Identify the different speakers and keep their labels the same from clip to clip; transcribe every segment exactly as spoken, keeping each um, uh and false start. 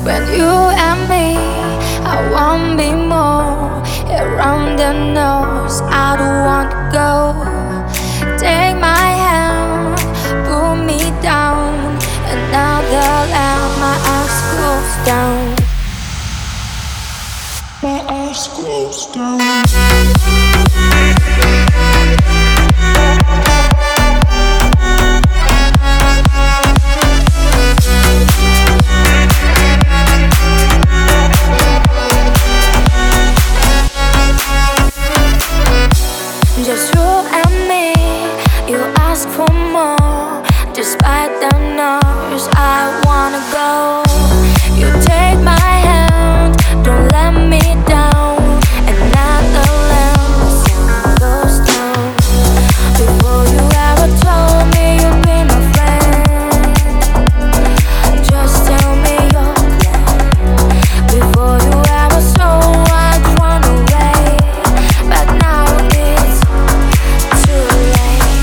Speaker 1: When you and me, I want me more. Around the nose, I don't want to go. Take my hand, pull me down. Another lamp, my eyes closed down. My eyes closed down. Just you and me, you ask for more. Despite the noise, I wanna go. You take my hand, don't let me down. Another lens goes down. Before you ever told me you'd be my friend, just tell me your plan. Before you ever saw I'd run away, but now it's too late.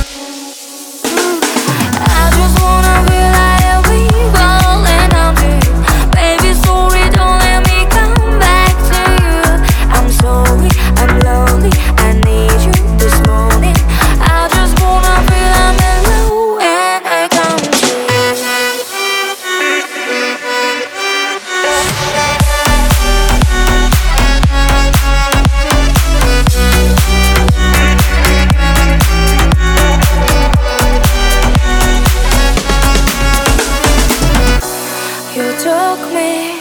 Speaker 1: I just wanna be like we falling down to you. Baby, sorry, don't let me come back to you. I'm sorry, I'm lonely, I need you this morning. I just wanna feel I'm alone when I come to you. You took me